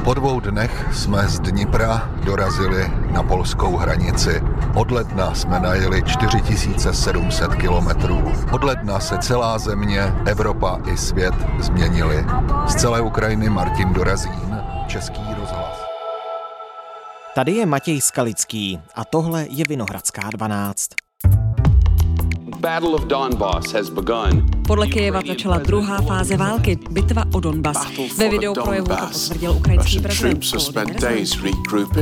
Po 2 dnech jsme z Dnipra dorazili na polskou hranici. Od ledna jsme najeli 4700 kilometrů. Od ledna se celá země, Evropa i svět změnili. Z celé Ukrajiny Martin Dorazín, Český rozhlas. Tady je Matěj Skalický a tohle je Vinohradská 12. Battle of Donbass has begun. Podle Kyjeva začala druhá fáze války, bitva o Donbas. Ve videoprojevu to potvrdil ukrajinský prezident Volodymyr Zelenskyj.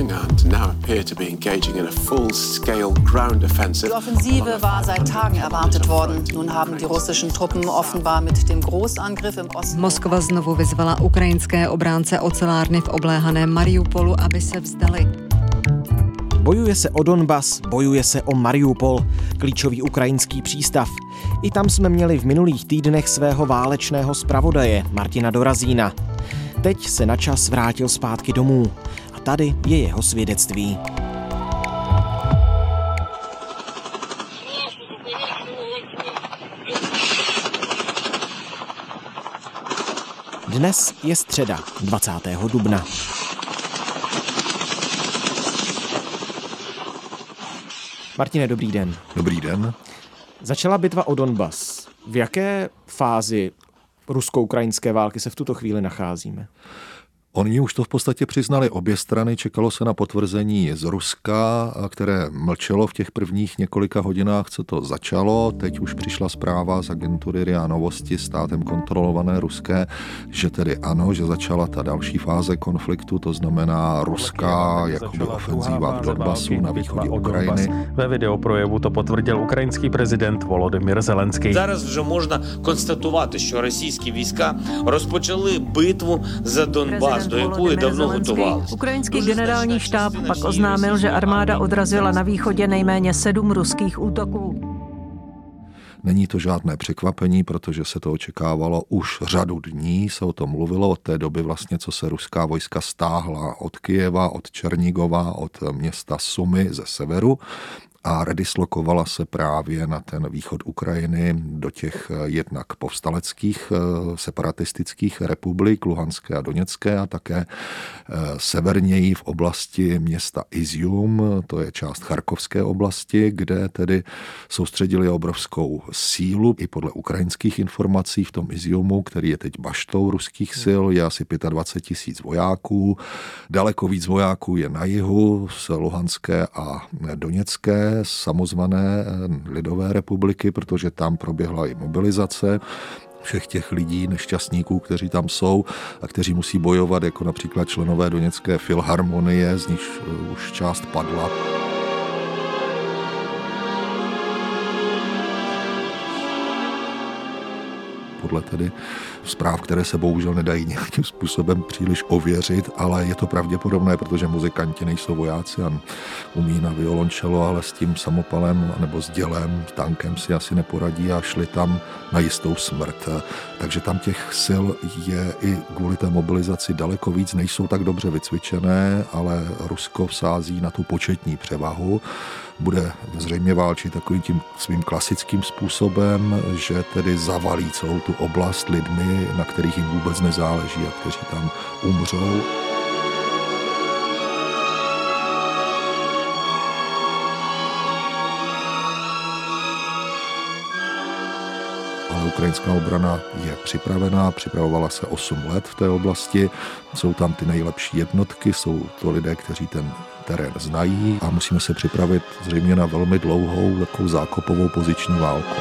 Die Offensive war seit Tagen erwartet worden. Nun haben die russischen Truppen offenbar mit dem Großangriff im Osten. Moskva znovu vyzvala ukrajinské obránce ocelárny v obléhaném Mariupolu, aby se vzdali. Bojuje se o Donbas, bojuje se o Mariupol, klíčový ukrajinský přístav. I tam jsme měli v minulých týdnech svého válečného zpravodaje Martina Dorazína. Teď se na čas vrátil zpátky domů a tady je jeho svědectví. Dnes je středa, 20. dubna. Martine, dobrý den. Dobrý den. Začala bitva o Donbas. V jaké fázi rusko-ukrajinské války se v tuto chvíli nacházíme? Oni už to v podstatě přiznali obě strany, čekalo se na potvrzení z Ruska, které mlčelo v těch prvních několika hodinách, co to začalo. Teď už přišla zpráva z agentury RIA Novosti, státem kontrolované ruské, že tedy ano, že začala ta další fáze konfliktu, to znamená ruská jakoby ofenzíva v Donbasu na východě Ukrajiny. Ve videoprojevu to potvrdil ukrajinský prezident Volodymyr Zelenskyj. Зараз вже можна констатувати, що російські війська розпочали битву за Донбас, do jakої давно готувалися. Ukrajinský generální štáb pak oznámil, že armáda odrazila na východě nejméně 7 ruských útoků. Není to žádné překvapení, protože se to očekávalo už řadu dní, se o tom mluvilo od té doby vlastně, co se ruská vojska stáhla od Kyjeva, od Černigova, od města Sumy ze severu a redislokovala se právě na ten východ Ukrajiny do těch jednak povstaleckých separatistických republik, Luhanské a Doněcké a také severněji v oblasti města Izium, to je část Charkovské oblasti, kde tedy soustředili obrovskou sílu. I podle ukrajinských informací v tom Iziumu, který je teď baštou ruských sil, je asi 25 000 vojáků. Daleko víc vojáků je na jihu z Luhanské a Doněcké, samozvané lidové republiky, protože tam proběhla i mobilizace všech těch lidí, nešťastníků, kteří tam jsou a kteří musí bojovat, jako například členové Doněcké filharmonie, z níž už část padla. Podle tedy zpráv, které se bohužel nedají nějakým způsobem příliš ověřit, ale je to pravděpodobné, protože muzikanti nejsou vojáci a umí na violončelo, ale s tím samopalem nebo s dělem, tankem si asi neporadí a šli tam na jistou smrt. Takže tam těch sil je i kvůli té mobilizaci daleko víc, nejsou tak dobře vycvičené, ale Rusko vsází na tu početní převahu. Bude zřejmě válčit takovým tím svým klasickým způsobem, že tedy zavalí celou tu oblast lidmi, na kterých jim vůbec nezáleží a kteří tam umřou. Ale ukrajinská obrana je připravená, připravovala se 8 let v té oblasti, jsou tam ty nejlepší jednotky, jsou to lidé, kteří ten terén znají a musíme se připravit zřejmě na velmi dlouhou takovou zákopovou poziční válku.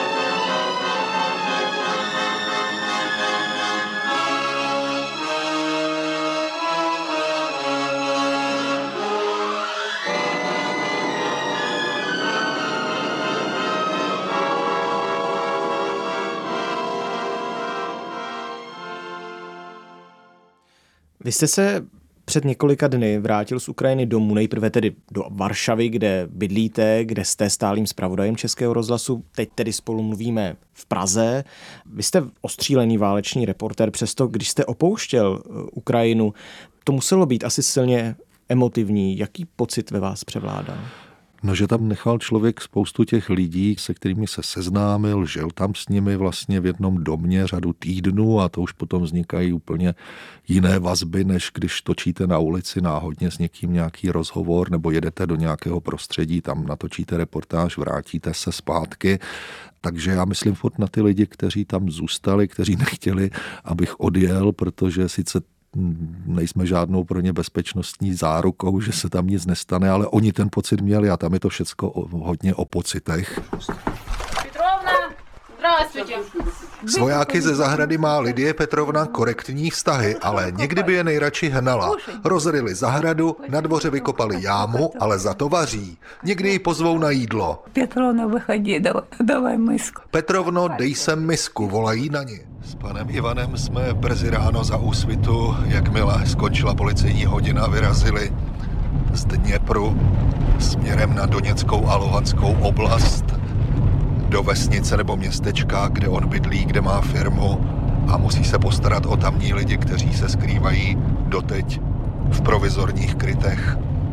Vy jste se před několika dny vrátil z Ukrajiny domů, nejprve tedy do Varšavy, kde bydlíte, kde jste stálým zpravodajem Českého rozhlasu. Teď tedy spolu mluvíme v Praze. Vy jste ostřílený válečný reportér, přesto když jste opouštěl Ukrajinu, to muselo být asi silně emotivní. Jaký pocit ve vás převládal? No, že tam nechal člověk spoustu těch lidí, se kterými se seznámil, žil tam s nimi vlastně v jednom domě řadu týdnů a to už potom vznikají úplně jiné vazby, než když točíte na ulici náhodně s někým nějaký rozhovor nebo jedete do nějakého prostředí, tam natočíte reportáž, vrátíte se zpátky. Takže já myslím furt na ty lidi, kteří tam zůstali, kteří nechtěli, abych odjel, protože sice nejsme žádnou pro ně bezpečnostní zárukou, že se tam nic nestane, ale oni ten pocit měli a tam je to všecko hodně o pocitech. Petrovna, zdravствуйте. S vojáky ze zahrady má Lidie Petrovna korektní vztahy, ale někdy by je nejradši hnala. Rozryli zahradu, na dvoře vykopali jámu, ale za to vaří. Někdy ji pozvou na jídlo. Petrovna, vychodí, давай misku. Petrovno, dej sem misku, volají na ní. S panem Ivanem jsme brzy ráno za Úsvitu, jakmile skončila policejní hodina, vyrazili z Dněpru směrem na Doněckou a Luhanskou oblast do vesnice nebo městečka, kde on bydlí, kde má firmu a musí se postarat o tamní lidi, kteří se skrývají doteď v provizorních krytech.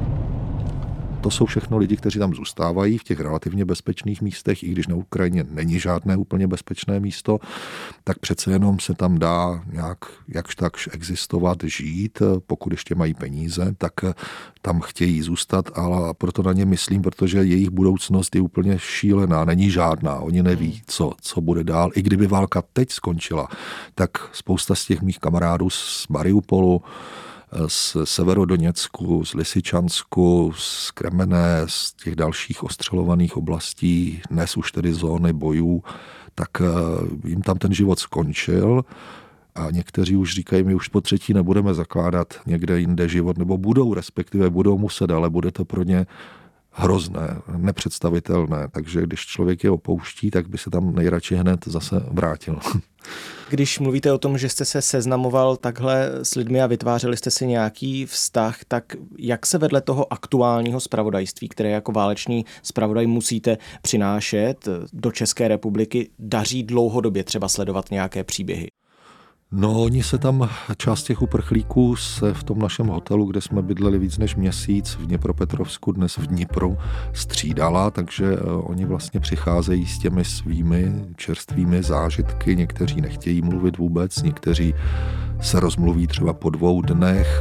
To jsou všechno lidi, kteří tam zůstávají v těch relativně bezpečných místech, i když na Ukrajině není žádné úplně bezpečné místo, tak přece jenom se tam dá nějak jakž takž existovat, žít, pokud ještě mají peníze, tak tam chtějí zůstat, ale proto na ně myslím, protože jejich budoucnost je úplně šílená, není žádná, oni neví, co bude dál. I kdyby válka teď skončila, tak spousta z těch mých kamarádů z Mariupolu, z Severodoněcku, z Lysyčansku, z Kremene, z těch dalších ostřelovaných oblastí, dnes už tedy zóny bojů, tak jim tam ten život skončil a někteří už říkají, my už po třetí nebudeme zakládat někde jinde život, nebo respektive budou muset, ale bude to pro ně hrozné, nepředstavitelné. Takže když člověk je opouští, tak by se tam nejradši hned zase vrátil. Když mluvíte o tom, že jste se seznamoval takhle s lidmi a vytvářeli jste si nějaký vztah, tak jak se vedle toho aktuálního zpravodajství, které jako válečný zpravodaj musíte přinášet do České republiky, daří dlouhodobě třeba sledovat nějaké příběhy? No, oni se tam, část těch uprchlíků se v tom našem hotelu, kde jsme bydleli víc než měsíc v Dněpropetrovsku, dnes v Dnipru, střídala, takže oni vlastně přicházejí s těmi svými čerstvými zážitky, někteří nechtějí mluvit vůbec, někteří se rozmluví třeba po 2 dnech.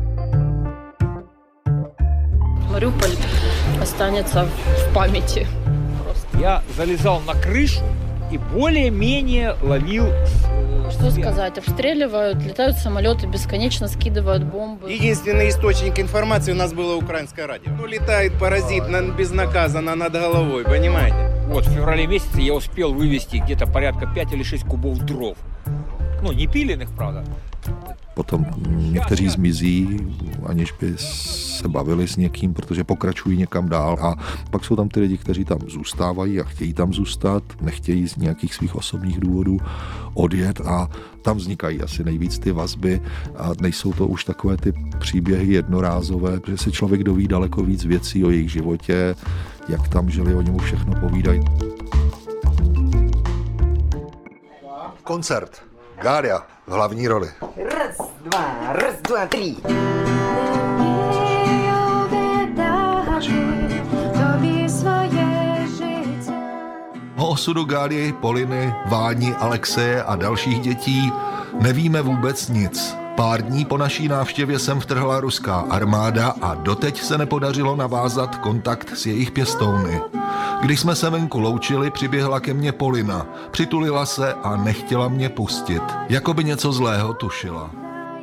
Mariupol останется в памяти. Я залезал на крышу и более-менее ловил. Что сказать? Обстреливают, летают самолеты, бесконечно скидывают бомбы. Единственный источник информации у нас было украинское радио. Ну, летает паразит безнаказанно над головой, понимаете? Вот в феврале месяце я успел вывести где-то порядка 5 или 6 кубов дров. Ну, не пиленных, правда. Potom někteří zmizí, aniž by se bavili s někým, protože pokračují někam dál. A pak jsou tam ty lidi, kteří tam zůstávají a chtějí tam zůstat, nechtějí z nějakých svých osobních důvodů odjet a tam vznikají asi nejvíc ty vazby a nejsou to už takové ty příběhy jednorázové, protože se člověk doví daleko víc věcí o jejich životě, jak tam žili, oni mu všechno povídají. Koncert. Gália v hlavní roli. Raz, dva, 3. O osudu Gálii, Poliny, Váni, Alexeje a dalších dětí nevíme vůbec nic. Pár dní po naší návštěvě sem vtrhla ruská armáda a doteď se nepodařilo navázat kontakt s jejich pěstouny. Když jsme se venku loučili, přiběhla ke mně Polina. Přitulila se a nechtěla mě pustit. Jako by něco zlého tušila.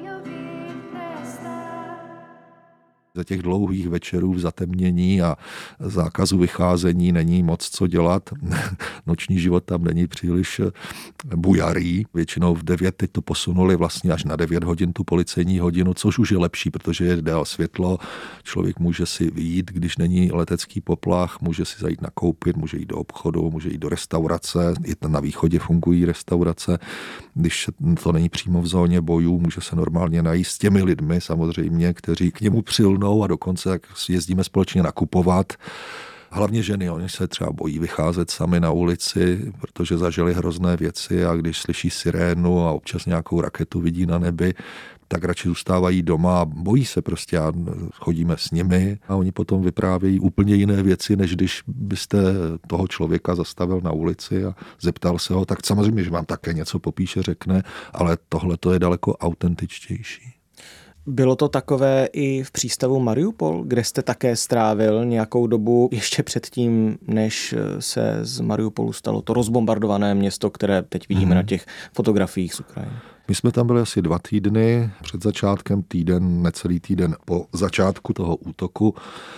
Za těch dlouhých večerů v zatemnění a zákazu vycházení není moc co dělat. Noční život tam není příliš bujarý. Většinou v 9, teď to posunuli vlastně až na 9 hodin tu policejní hodinu, což už je lepší, protože je dál světlo. Člověk může si vyjít, když není letecký poplach, může si zajít nakoupit, může jít do obchodu, může jít do restaurace. I na východě fungují restaurace. Když to není přímo v zóně bojů, může se normálně najíst s těmi lidmi samozřejmě, kteří k němu přilnou a dokonce tak jezdíme společně nakupovat. Hlavně ženy, oni se třeba bojí vycházet sami na ulici, protože zažili hrozné věci a když slyší sirénu a občas nějakou raketu vidí na nebi, tak radši zůstávají doma a bojí se prostě a chodíme s nimi a oni potom vyprávějí úplně jiné věci, než když byste toho člověka zastavil na ulici a zeptal se ho, tak samozřejmě, že vám také něco popíše, řekne, ale tohle to je daleko autentičtější. Bylo to takové i v přístavu Mariupol, kde jste také strávil nějakou dobu ještě předtím, než se z Mariupolu stalo to rozbombardované město, které teď vidíme na těch fotografiích z Ukrajiny. My jsme tam byli asi 2 týdny, před začátkem týden, necelý týden po začátku toho útoku.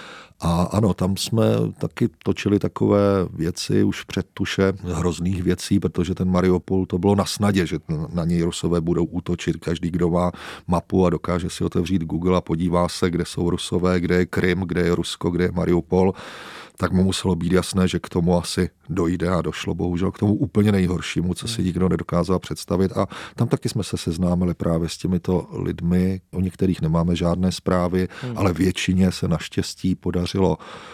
A ano, tam jsme taky točili takové věci už před tuše hrozných věcí, protože ten Mariupol to bylo na snadě, že na něj Rusové budou útočit. Každý, kdo má mapu a dokáže si otevřít Google a podívá se, kde jsou Rusové, kde je Krym, kde je Rusko, kde je Mariupol, tak mu muselo být jasné, že k tomu asi dojde a došlo bohužel k tomu úplně nejhoršímu, co si nikdo nedokázal představit. A tam taky jsme se seznámili právě s těmito lidmi, o některých nemáme žádné zprávy, ale většině se naštěstí podařilo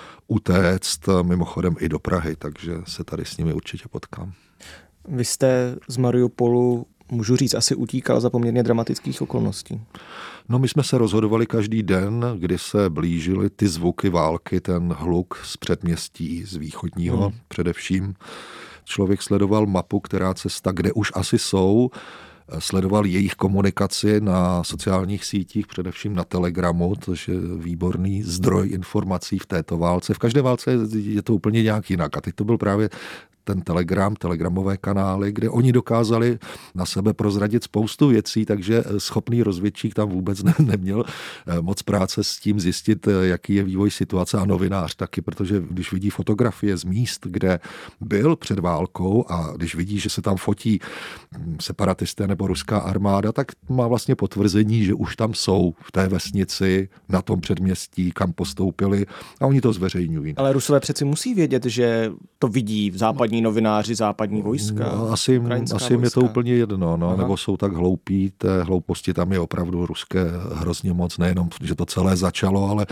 utéct, mimochodem i do Prahy, takže se tady s nimi určitě potkám. Vy jste z Mariupolu, můžu říct, asi utíkal za poměrně dramatických okolností. No, my jsme se rozhodovali každý den, kdy se blížily ty zvuky války, ten hluk z předměstí, z východního především. Člověk sledoval mapu, která cesta, kde už asi jsou, sledoval jejich komunikaci na sociálních sítích, především na Telegramu, což je výborný zdroj informací v této válce. V každé válce je to úplně nějak jinak. A teď to byl právě ten telegramové kanály, kde oni dokázali na sebe prozradit spoustu věcí, takže schopný rozvědčík tam vůbec neměl moc práce s tím zjistit, jaký je vývoj situace, a novinář taky, protože když vidí fotografie z míst, kde byl před válkou a když vidí, že se tam fotí separatisté nebo ruská armáda, tak má vlastně potvrzení, že už tam jsou v té vesnici, na tom předměstí, kam postoupili, a oni to zveřejňují. Ale Rusové přeci musí vědět, že to vidí v západní novináři, západní vojska. No, asi jim je to úplně jedno, no, nebo jsou tak hloupí, té hlouposti tam je opravdu ruské hrozně moc, nejenom, že to celé začalo, ale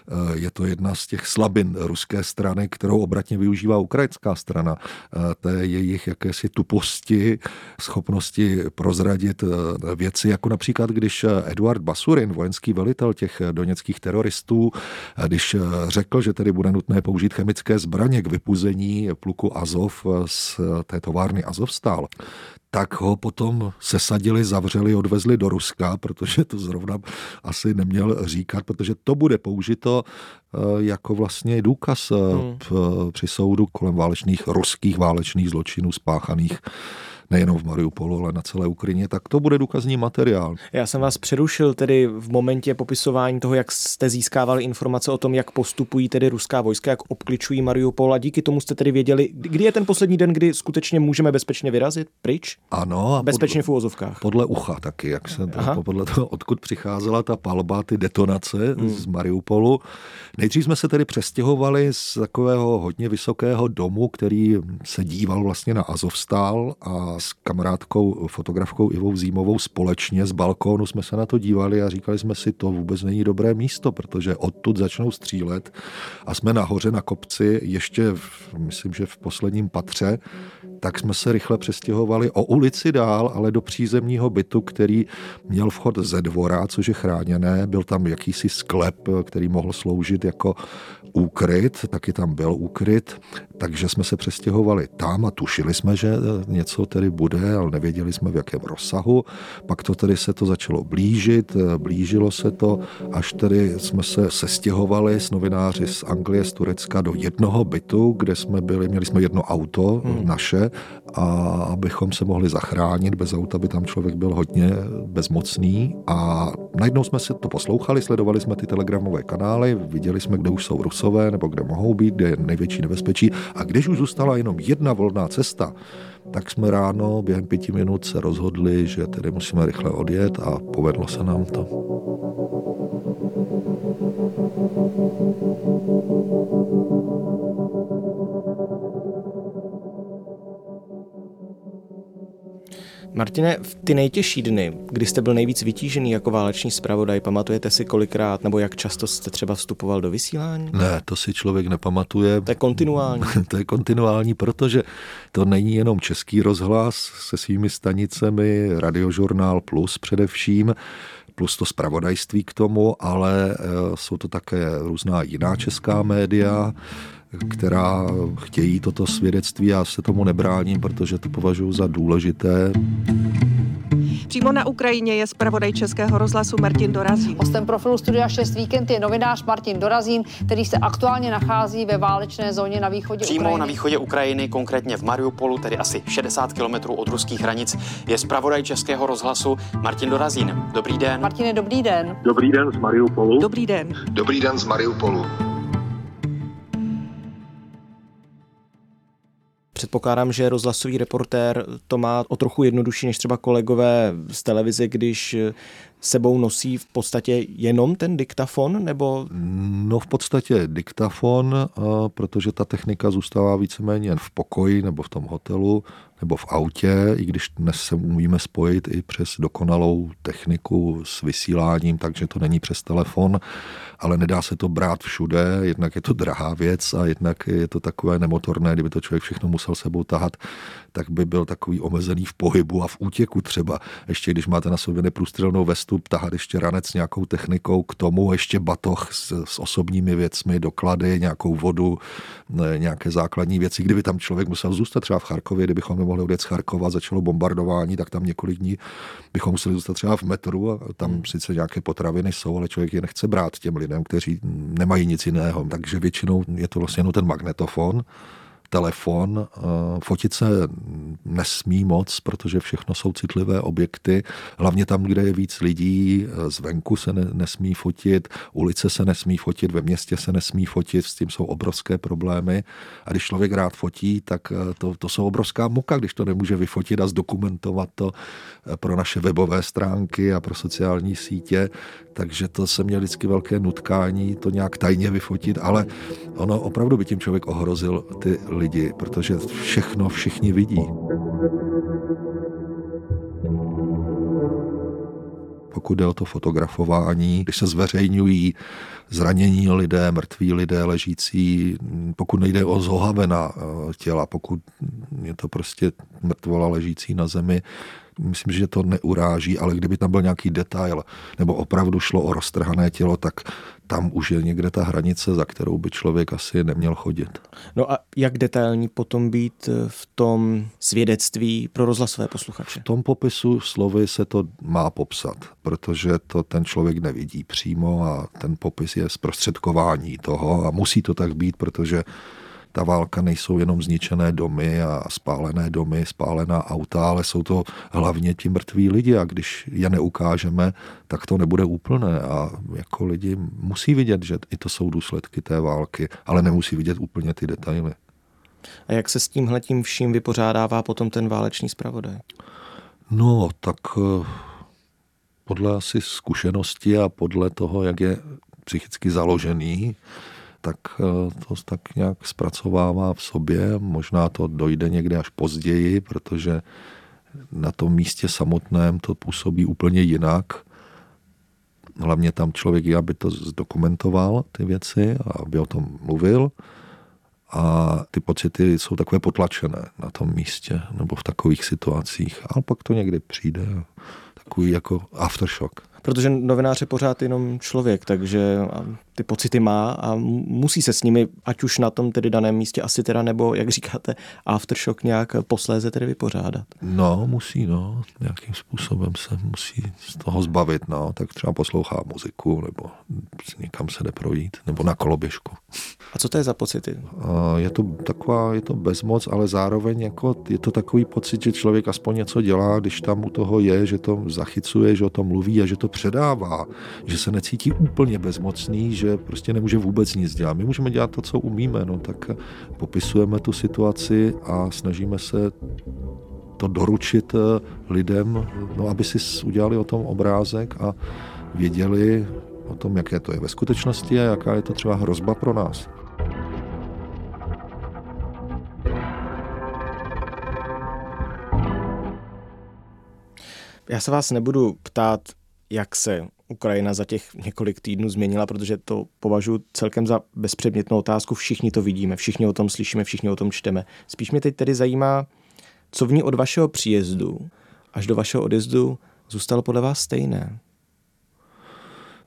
je to jedna z těch slabin ruské strany, kterou obratně využívá ukrajinská strana. Té jejich jakési tuposti, schopnosti prozradit věci, jako například, když Eduard Basurin, vojenský velitel těch doněckých teroristů, když řekl, že tedy bude nutné použít chemické zbraně k vypuzení pluku Azov z té továrny Azovstal, tak ho potom sesadili, zavřeli, odvezli do Ruska, protože to zrovna asi neměl říkat, protože to bude použito jako vlastně důkaz při soudu kolem ruských válečných zločinů spáchaných nejenom v Mariupolu, ale na celé Ukrajině, tak to bude důkazní materiál. Já jsem vás přerušil tedy v momentě popisování toho, jak jste získávali informace o tom, jak postupují tedy ruská vojska, jak obkličují Mariupol, a díky tomu jste tedy věděli, kdy je ten poslední den, kdy skutečně můžeme bezpečně vyrazit pryč? Ano. Bezpečně v uvozovkách. Podle ucha taky, jak se podle toho, odkud přicházela ta palba, ty detonace z Mariupolu. Nejdřív jsme se tedy přestěhovali z takového hodně vysokého domu, který se díval vlastně na Azovstal, a s kamarádkou, fotografkou Ivou Zímovou společně z balkónu jsme se na to dívali a říkali jsme si, to vůbec není dobré místo, protože odtud začnou střílet a jsme nahoře na kopci, ještě myslím, že v posledním patře, tak jsme se rychle přestěhovali o ulici dál, ale do přízemního bytu, který měl vchod ze dvora, což je chráněné, byl tam jakýsi sklep, který mohl sloužit jako úkryt, taky tam byl úkryt, takže jsme se přestěhovali tam a tušili jsme, že něco tedy bude, ale nevěděli jsme v jakém rozsahu. Pak to tedy se to začalo blížilo se to, až tedy jsme se sestěhovali s novináři z Anglie, z Turecka do jednoho bytu, kde jsme byli, měli jsme jedno auto naše, a abychom se mohli zachránit, bez auta by tam člověk byl hodně bezmocný, a najednou jsme si to poslouchali, sledovali jsme ty telegramové kanály, viděli jsme, kde už jsou Rusové, nebo kde mohou být, kde je největší nebezpečí, a když už zůstala jenom jedna volná cesta, tak jsme ráno během 5 minut se rozhodli, že tedy musíme rychle odjet, a povedlo se nám to. Martine, v ty nejtěžší dny, kdy jste byl nejvíc vytížený jako válečný zpravodaj, pamatujete si kolikrát nebo jak často jste třeba vstupoval do vysílání? Ne, to si člověk nepamatuje. To je kontinuální. To je kontinuální, protože to není jenom Český rozhlas se svými stanicemi, Radiožurnál Plus především. plus to zpravodajství k tomu, ale jsou to také různá jiná česká média, která chtějí toto svědectví. Já se tomu nebráním, protože to považuji za důležité. Přímo na Ukrajině je zpravodaj Českého rozhlasu Martin Dorazín. Hostem profilu Studia 6 Víkend je novinář Martin Dorazín, který se aktuálně nachází ve válečné zóně na východě Přímo Ukrajiny. na východě Ukrajiny, konkrétně v Mariupolu, tedy asi 60 kilometrů od ruských hranic, je zpravodaj Českého rozhlasu Martin Dorazín. Dobrý den. Martine, dobrý den. Dobrý den z Mariupolu. Dobrý den. Dobrý den z Mariupolu. Předpokládám, že rozhlasový reportér to má o trochu jednodušší než třeba kolegové z televize, když sebou nosí v podstatě jenom ten diktafon, nebo? No v podstatě diktafon, protože ta technika zůstává víceméně v pokoji nebo v tom hotelu nebo v autě, i když dnes se umíme spojit i přes dokonalou techniku s vysíláním, takže to není přes telefon, ale nedá se to brát všude, jednak je to drahá věc a jednak je to takové nemotorné, kdyby to člověk všechno musel sebou tahat, tak by byl takový omezený v pohybu a v útěku třeba. Ještě když máte na sobě neprůstřelnou vestu, tahat ještě ranec s nějakou technikou, k tomu ještě batoh s osobními věcmi, doklady, nějakou vodu, nějaké základní věci. Kdyby tam člověk musel zůstat třeba v Charkově, kdybychom nemohli odjet z Charkova, začalo bombardování, tak tam několik dní bychom museli zůstat třeba v metru a tam sice nějaké potraviny jsou, ale člověk je nechce brát těm lidem, kteří nemají nic jiného. Takže většinou je to vlastně jenom ten magnetofon, telefon, fotit se nesmí moc, protože všechno jsou citlivé objekty, hlavně tam, kde je víc lidí, zvenku se nesmí fotit, ulice se nesmí fotit, ve městě se nesmí fotit, s tím jsou obrovské problémy a když člověk rád fotí, tak to jsou obrovská muka, když to nemůže vyfotit a zdokumentovat to pro naše webové stránky a pro sociální sítě, takže to se měl vždycky velké nutkání to nějak tajně vyfotit, ale ono opravdu by tím člověk ohrozil ty lidi, protože všechno všichni vidí. Pokud jde o to fotografování, když se zveřejňují zranění lidé, mrtví lidé ležící, pokud nejde o zohavená těla, pokud je to prostě mrtvola ležící na zemi, myslím, že to neuráží, ale kdyby tam byl nějaký detail, nebo opravdu šlo o roztrhané tělo, tak tam už je někde ta hranice, za kterou by člověk asi neměl chodit. No a jak detailní potom být v tom svědectví pro rozhlasové posluchače? V tom popisu slovy se to má popsat, protože to ten člověk nevidí přímo a ten popis je zprostředkování toho a musí to tak být, protože ta válka nejsou jenom zničené domy a spálené domy, spálená auta, ale jsou to hlavně ti mrtví lidi a když je neukážeme, tak to nebude úplné a jako lidi musí vidět, že i to jsou důsledky té války, ale nemusí vidět úplně ty detaily. A jak se s tímhletím vším vypořádává potom ten válečný zpravodaj? No, tak podle asi zkušenosti a podle toho, jak je psychicky založený, tak to tak nějak zpracovává v sobě. Možná to dojde někde až později, protože na tom místě samotném to působí úplně jinak. Hlavně tam člověk je, aby to zdokumentoval, ty věci, a aby o tom mluvil. A ty pocity jsou takové potlačené na tom místě nebo v takových situacích. Ale pak to někdy přijde. Takový jako aftershock. Protože novinář je pořád jenom člověk, takže ty pocity má a musí se s nimi, ať už na tom tedy daném místě asi teda, nebo jak říkáte, aftershock nějak posléze tedy vypořádat. No, musí, no. Nějakým způsobem se musí z toho zbavit, no. Tak třeba poslouchá muziku, nebo někam se jde projít, nebo na koloběžku. A co to je za pocity? Je to bezmoc, ale zároveň jako je to takový pocit, že člověk aspoň něco dělá, když tam u toho je, že to zachycuje, že o tom mluví a že to předává, že se necítí úplně bezmocný, že prostě nemůže vůbec nic dělat. My můžeme dělat to, co umíme, no tak popisujeme tu situaci a snažíme se to doručit lidem, no aby si udělali o tom obrázek a věděli o tom, jaké to je ve skutečnosti a jaká je to třeba hrozba pro nás. Já se vás nebudu ptát, jak se Ukrajina za těch několik týdnů změnila, protože to považuji celkem za bezpředmětnou otázku. Všichni to vidíme, všichni o tom slyšíme, všichni o tom čteme. Spíš mě teď tedy zajímá, co v ní od vašeho příjezdu až do vašeho odjezdu zůstalo podle vás stejné?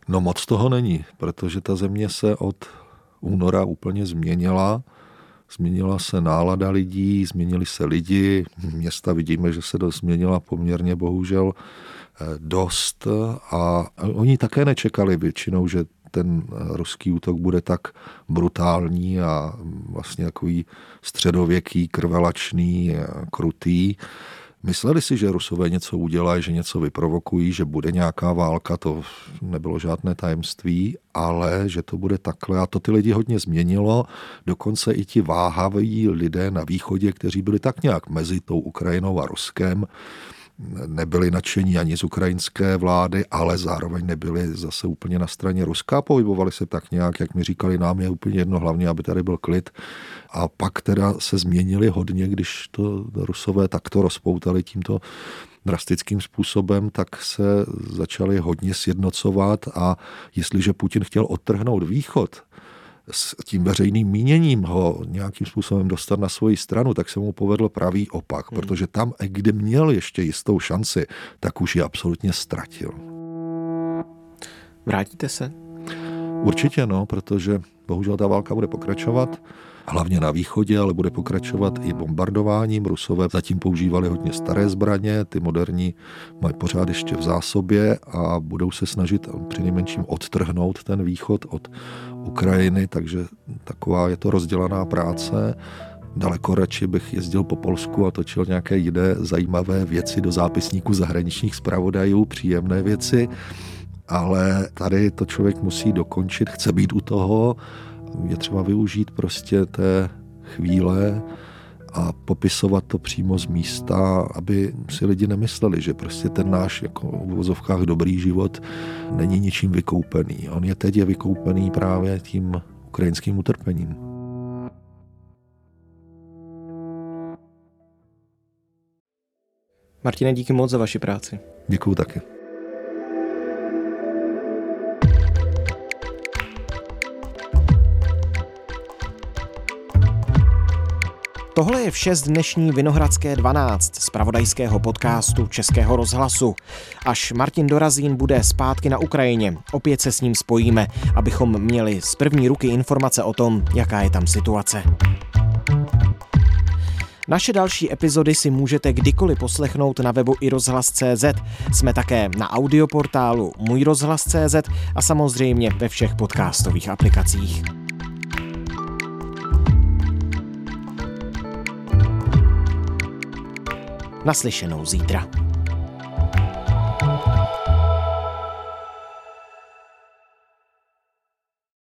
No moc toho není, protože ta země se od února úplně změnila. Změnila se nálada lidí, změnili se lidi, města vidíme, že se změnila poměrně bohužel dost a oni také nečekali většinou, že ten ruský útok bude tak brutální a vlastně takový středověký, krvelačný, krutý. Mysleli si, že Rusové něco udělají, že něco vyprovokují, že bude nějaká válka, to nebylo žádné tajemství, ale že to bude takhle a to ty lidi hodně změnilo. Dokonce i ti váhaví lidé na východě, kteří byli tak nějak mezi tou Ukrajinou a Ruskem, nebyli nadšení ani z ukrajinské vlády, ale zároveň nebyli zase úplně na straně Ruska. Pohybovali se tak nějak, jak mi říkali, nám je úplně jedno, hlavně, aby tady byl klid. A pak teda se změnili hodně, když to Rusové takto rozpoutali tímto drastickým způsobem, tak se začali hodně sjednocovat a jestliže Putin chtěl odtrhnout východ, s tím veřejným míněním ho nějakým způsobem dostat na svoji stranu, tak se mu povedl pravý opak, protože tam, kde měl ještě jistou šanci, tak už ji absolutně ztratil. Vrátíte se? Určitě no, protože bohužel ta válka bude pokračovat, hlavně na východě, ale bude pokračovat i bombardováním. Rusové zatím používali hodně staré zbraně, ty moderní mají pořád ještě v zásobě a budou se snažit přinejmenším odtrhnout ten východ od Ukrajiny, takže taková je to rozdělaná práce. Daleko radši bych jezdil po Polsku a točil nějaké jiné zajímavé věci do zápisníku zahraničních zpravodajů, příjemné věci, ale tady to člověk musí dokončit, chce být u toho, je třeba využít prostě té chvíle a popisovat to přímo z místa, aby si lidi nemysleli, že prostě ten náš jako v uvozovkách dobrý život není ničím vykoupený. On je teď vykoupený právě tím ukrajinským utrpením. Martine, díky moc za vaši práci. Děkuju taky. Tohle je vše z dnešní Vinohradské 12, zpravodajského podcastu Českého rozhlasu. Až Martin Dorazín bude zpátky na Ukrajině, opět se s ním spojíme, abychom měli z první ruky informace o tom, jaká je tam situace. Naše další epizody si můžete kdykoliv poslechnout na webu iRozhlas.cz. Jsme také na audioportálu můjrozhlas.cz a samozřejmě ve všech podcastových aplikacích. Naslyšenou zítra.